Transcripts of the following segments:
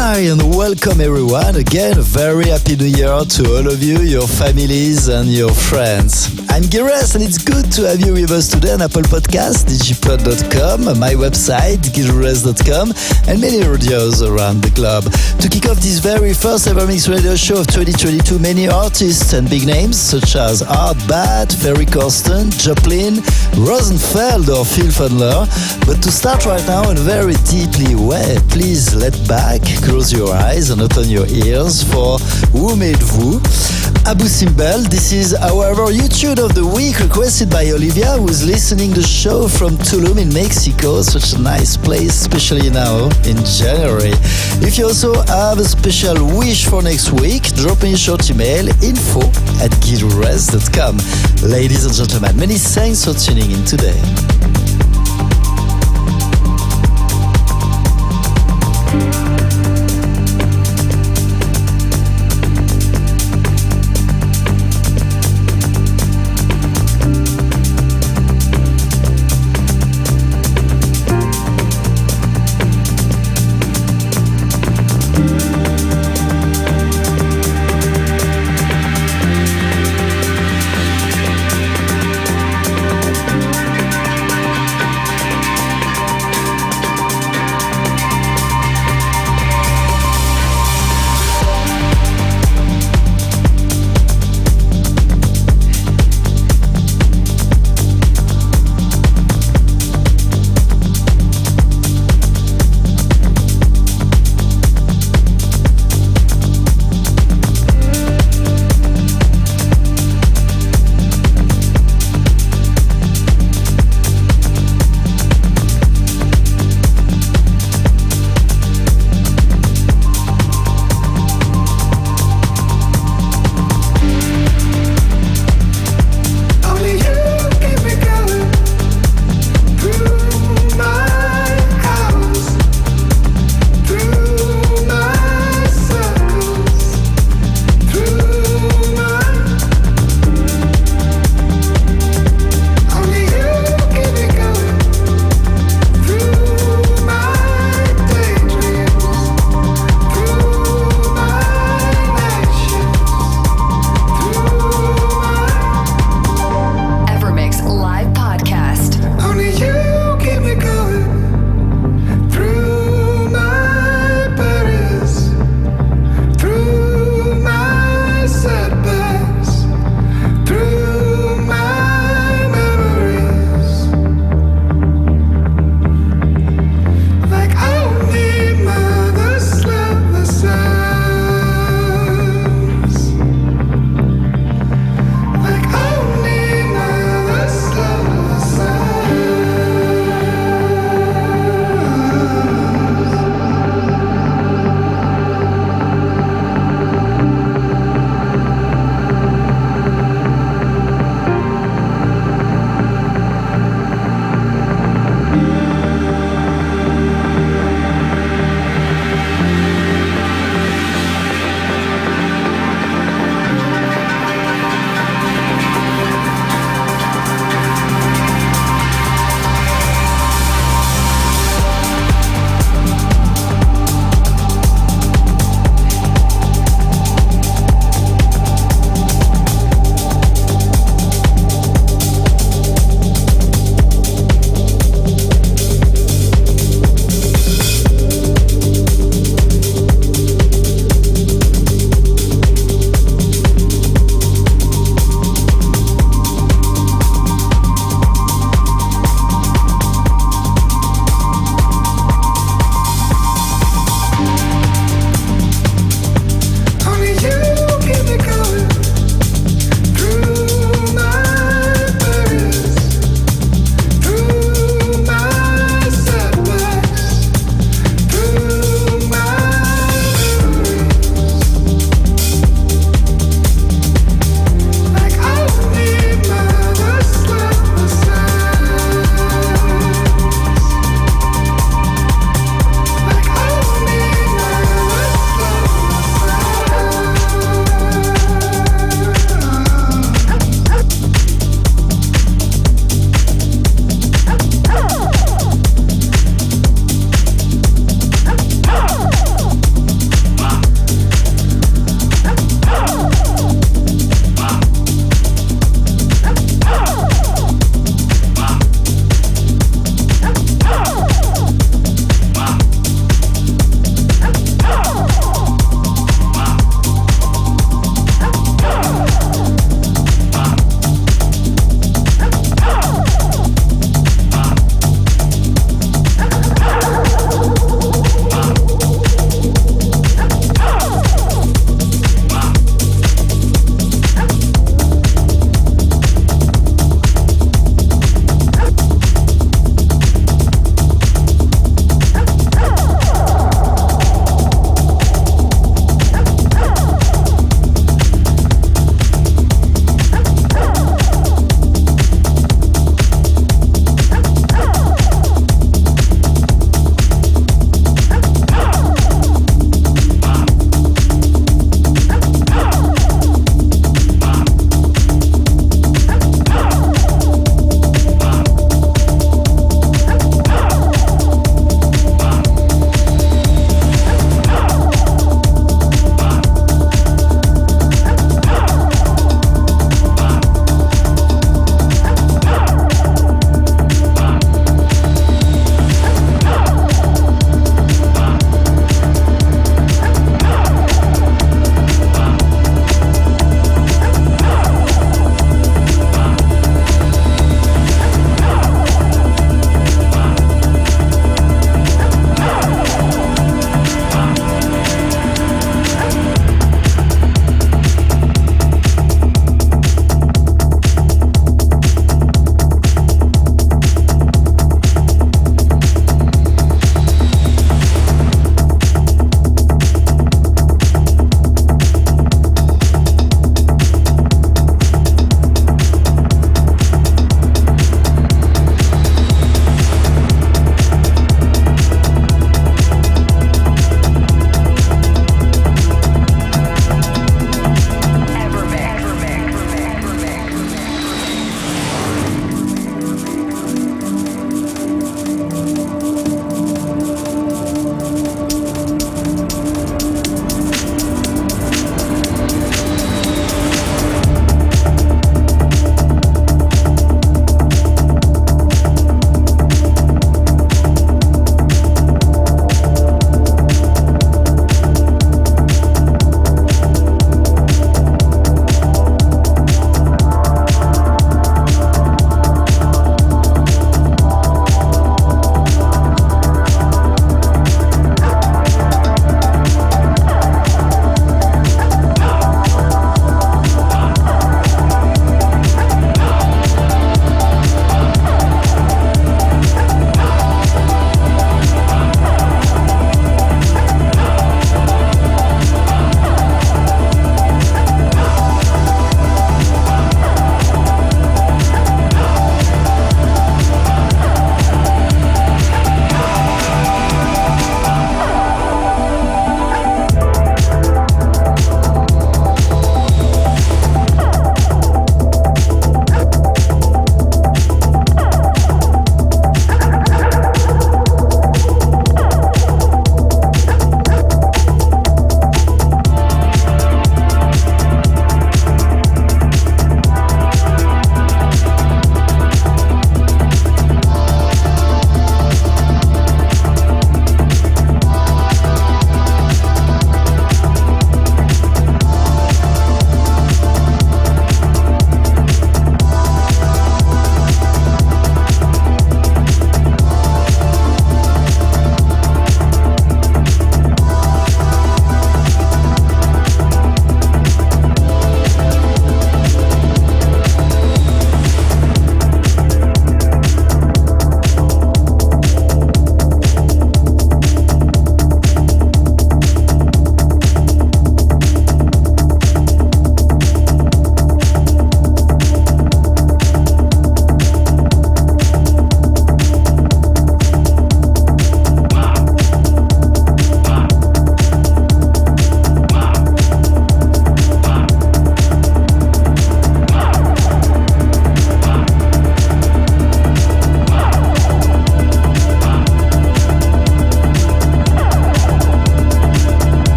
Hi and welcome everyone. Again, a very happy new year to all of you, your families and your friends. I'm Gires and it's good to have you with us today on Apple Podcasts, digipod.com, my website, gires.com, and many radios around the globe. To kick off this very first ever mixed radio show of 2022, many artists and big names such as Art Bat, Ferry Corsten, Joplin, Rosenfeld or Phil Fondler. But to start right now in a very deeply way, please let back, close your eyes and open your ears for Who Made Vous? Abu Simbel, this is our YouTube of the week requested by Olivia, who is listening the show from Tulum in Mexico, such a nice place, especially now in January. If you also have a special wish for next week, drop me a short email, info@gilres.com. Ladies and gentlemen, many thanks for tuning in today.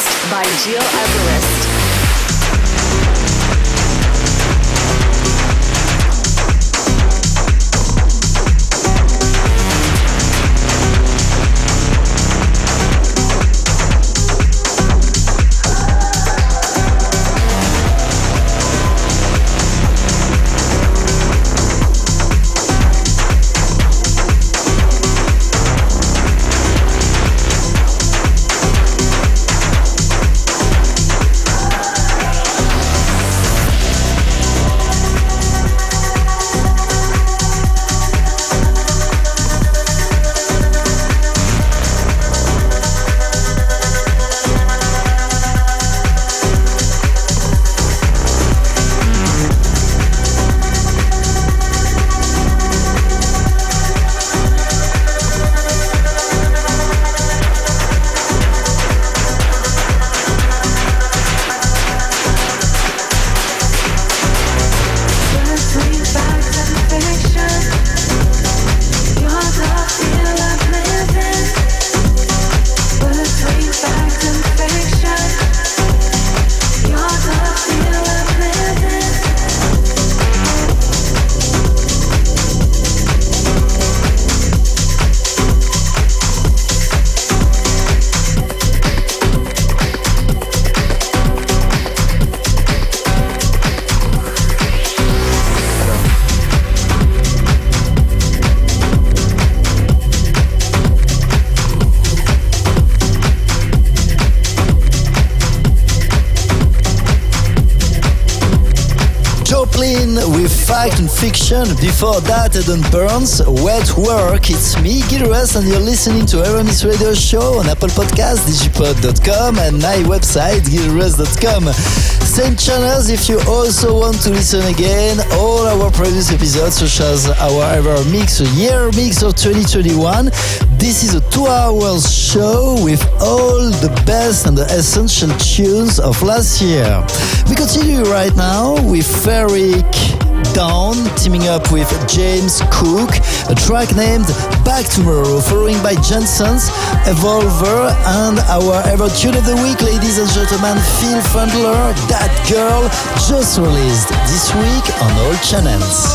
mixed by Gil Everest. Fact and Fiction. Before that, Eden Burns, Wet Work. It's me, Gil Everest, and you're listening to Aramis Radio Show on Apple Podcasts, digipod.com, and my website, gileverest.com. Same channels if you also want to listen again. All our previous episodes, such as our Ever Mix, a year mix of 2021. This is a 2-hour show with all the best and the essential tunes of last year. We continue right now with Ferric Dawn teaming up with James Cook, a track named Back Tomorrow, following by Jensen's Evolver, and our ever tune of the week, ladies and gentlemen, Phil Fundler, That Girl, just released this week on all channels.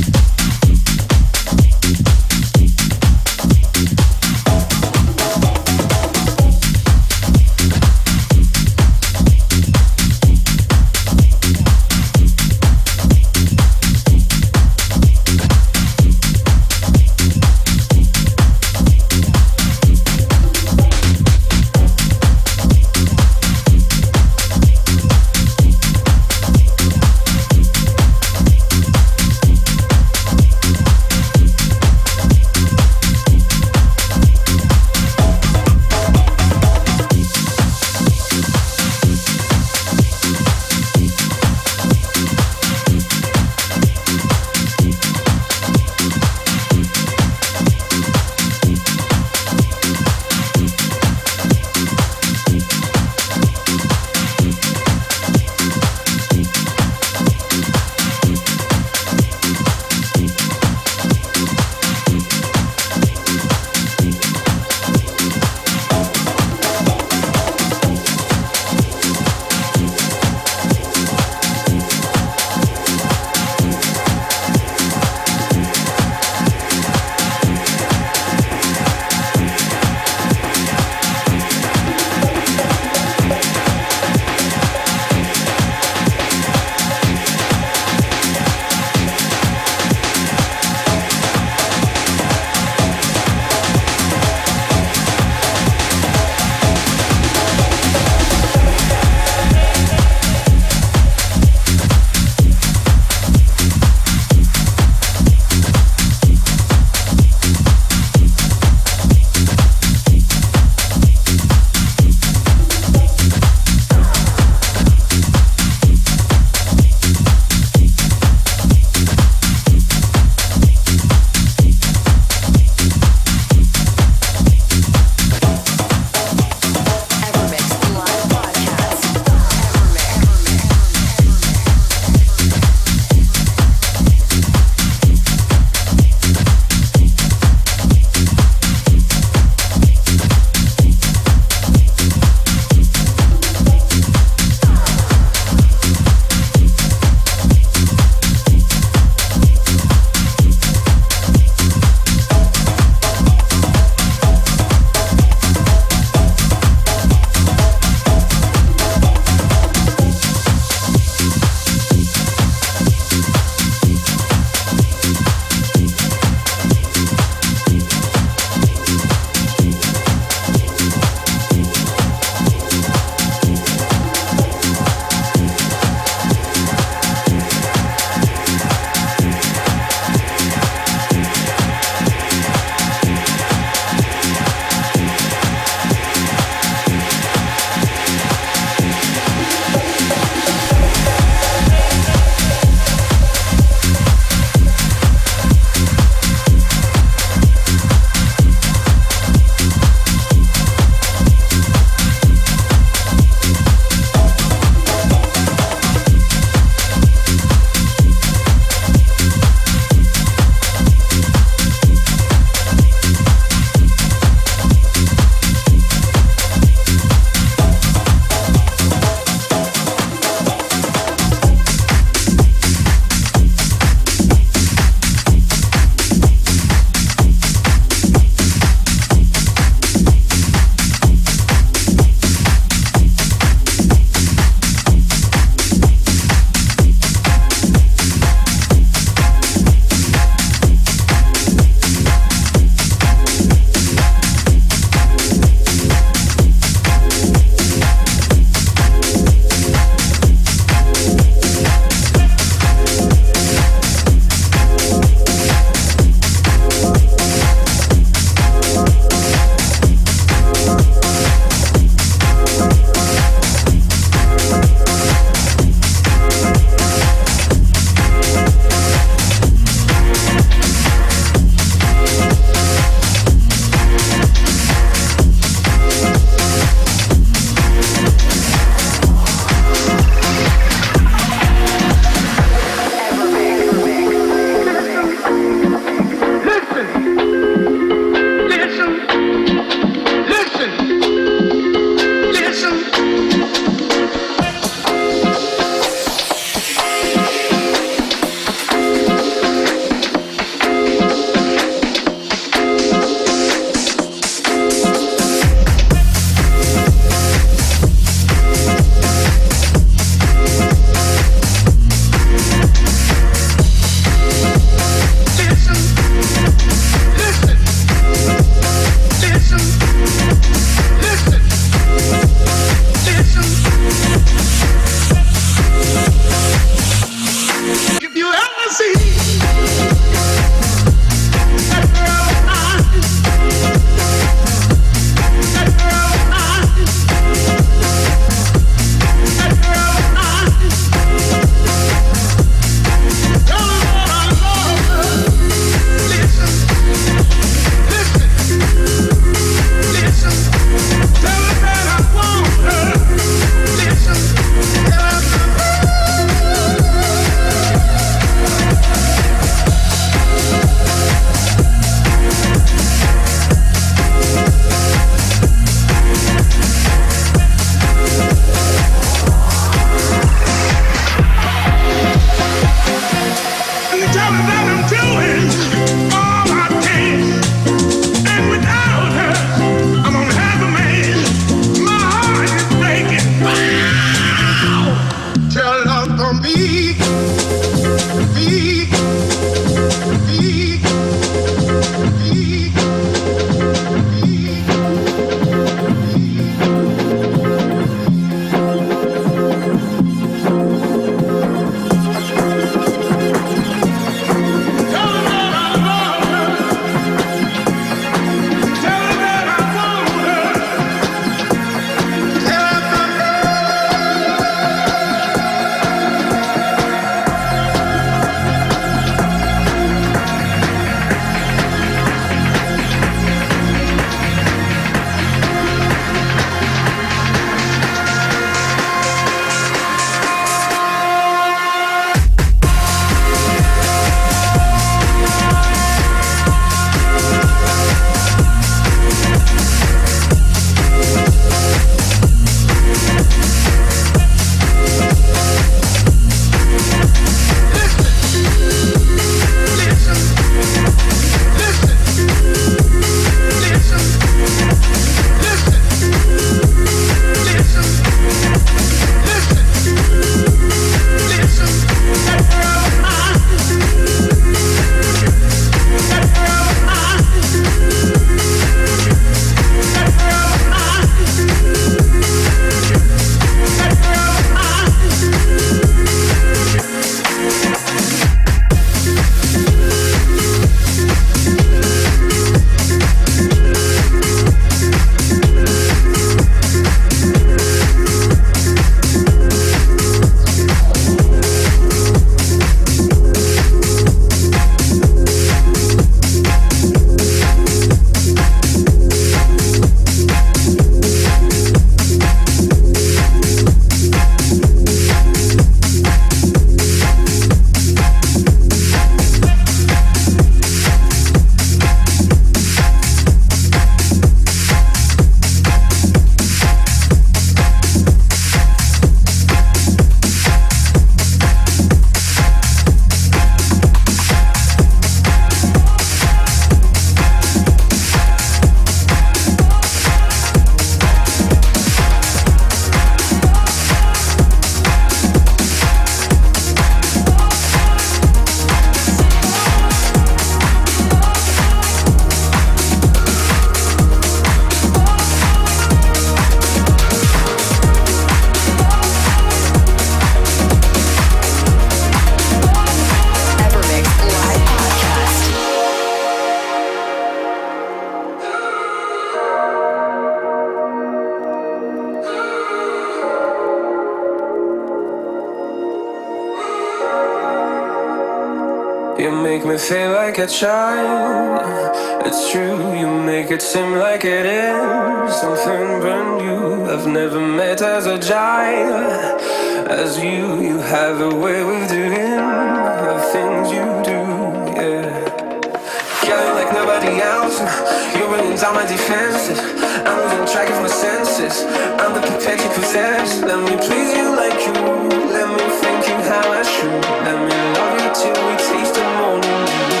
You make me feel like a child. It's true, you make it seem like it is something brand new. I've never met as agile as you. You have a way of doing the things you do, yeah. Killing like nobody else. You're bringing down my defenses. I'm losing track of my senses. I'm the perfect you possess. Let me please you like you. Let me thank you how I should. Let me love you till we taste the morning dew.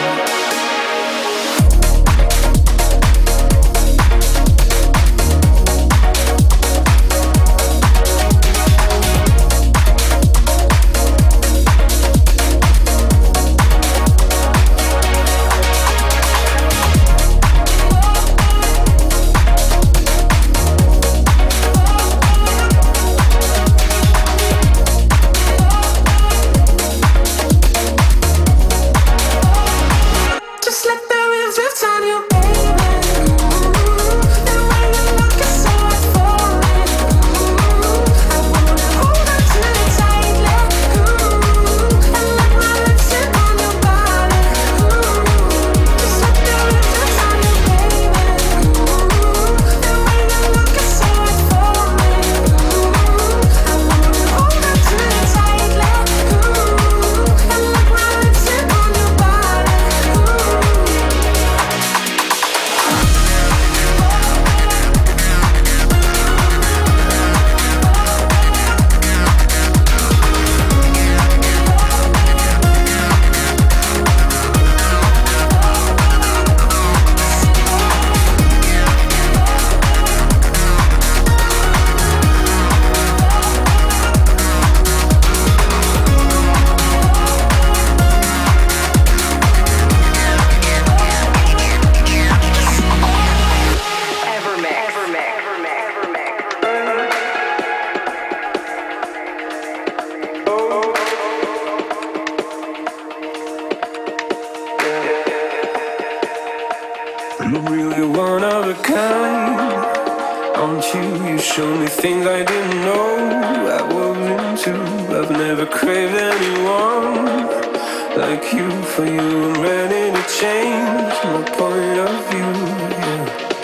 You're really one of a kind, aren't you? You show me things I didn't know I was into. I've never craved anyone like you. For you, I'm ready to change my point of view, yeah.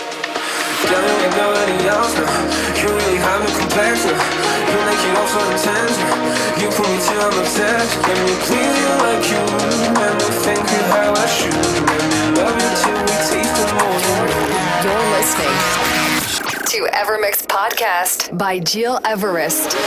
Girl, you like nobody else now. You really have no complex now. You make it all so intense now. You put me till I'm obsessed. Let me please you like you. Let me thank you how I should. Let me love you till we taste the morning. You're listening to Evermix Podcast by Gil Everest.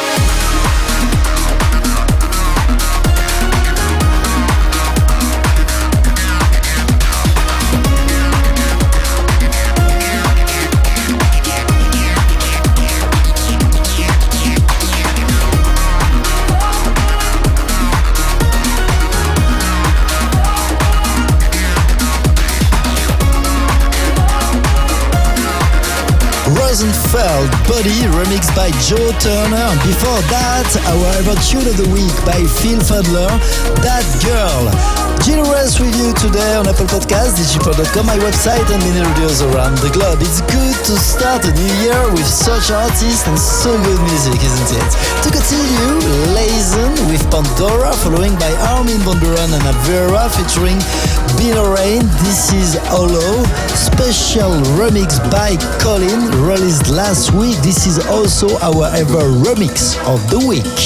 Rosenfeld, Body, remixed by Joe Turner. Before that, our ever tune of the week by Phil Fadler, That Girl. Gil Everest with you today on Apple Podcasts, digipod.com, my website, and many radios around the globe. It's good to start a new year with such artists and so good music, isn't it? To continue, Lazen with Pandora, following by Armin van Buuren and Avera featuring Bino Rain. This is Hollow, special remix by Colin, released last week. This is also our ever remix of the week.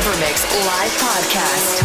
Evermix live podcast.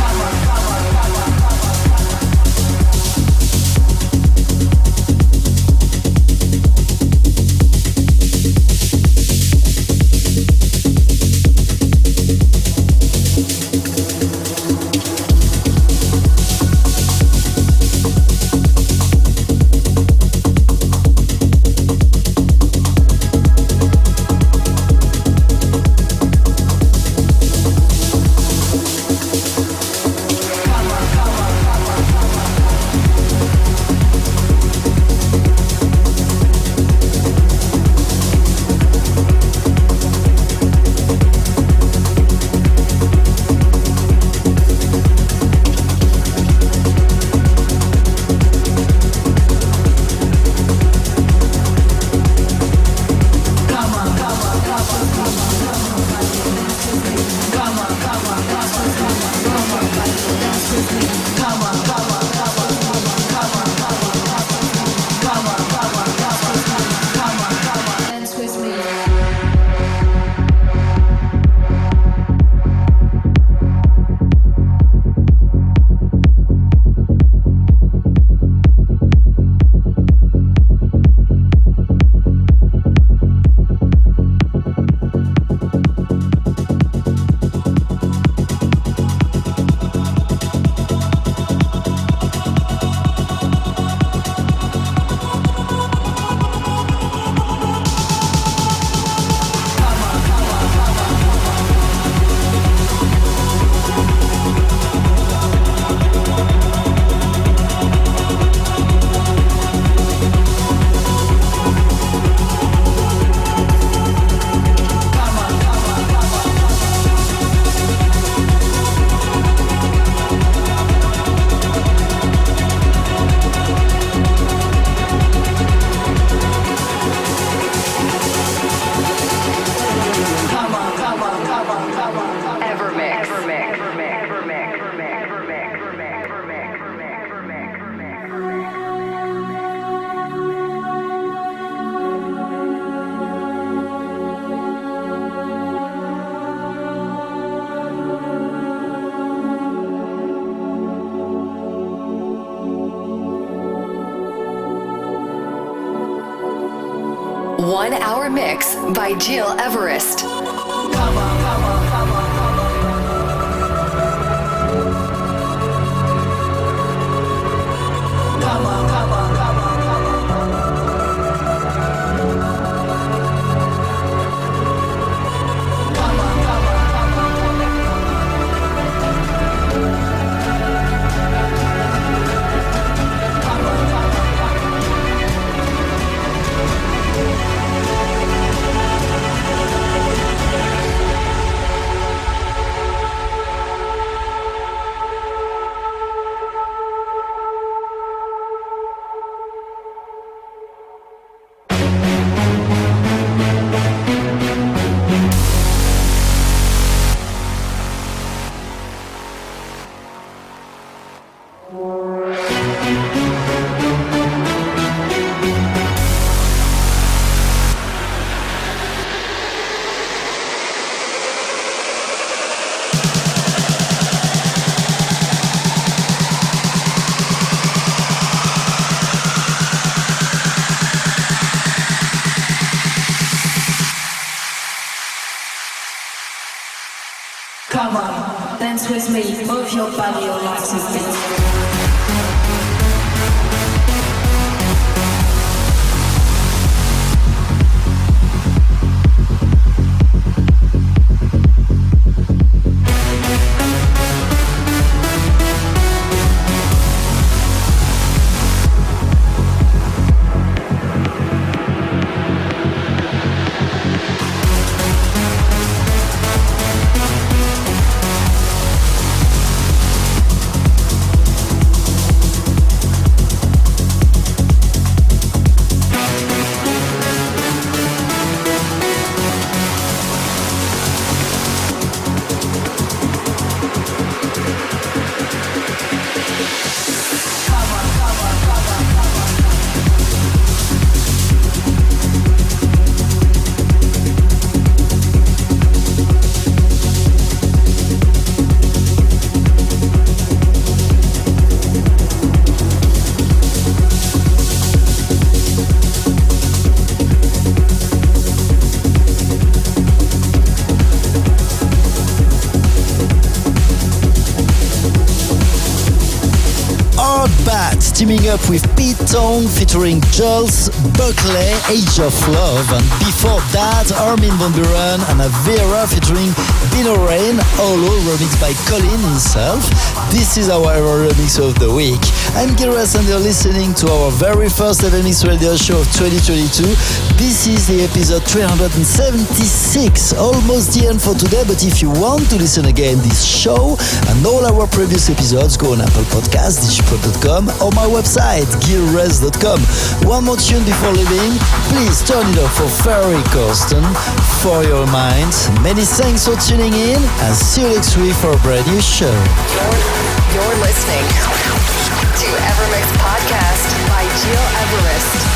One-hour mix by Gil Everest. Come on, dance with me, move your body, your life to beat. teaming up with Pete Tong featuring Jules Buckley, Age of Love. And before that, Armin van Buuren and Avira featuring Bino Rain, Holo remixed by Colin himself. This is our remix of the week. I'm Giras and you're listening to our very first ever Mix Radio show of 2022. This is the episode 376, almost the end for today, but if you want to listen again this show and all our previous episodes, go on Apple Podcasts, digipod.com or my website, gilres.com. One more tune before leaving. Please turn it off for Ferry Corsten, For Your Mind. Many thanks for tuning in and see you next week for a brand new show. You're listening to Evermix Podcast by Gil Everest.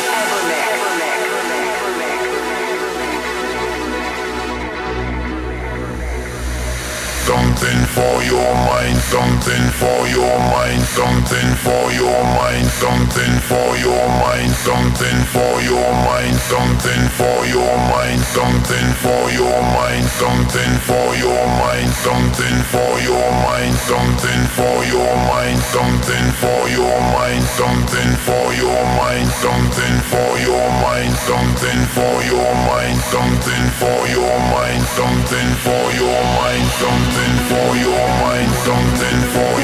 Something for your mind, something for your mind, something for your mind, something for your mind, something for your mind, something for your mind, something for your mind, something for your mind, something for your mind, something for your mind, something for your mind, something for your mind, something for your mind, something for your mind, something for your mind, something for your mind, something for your mind, something for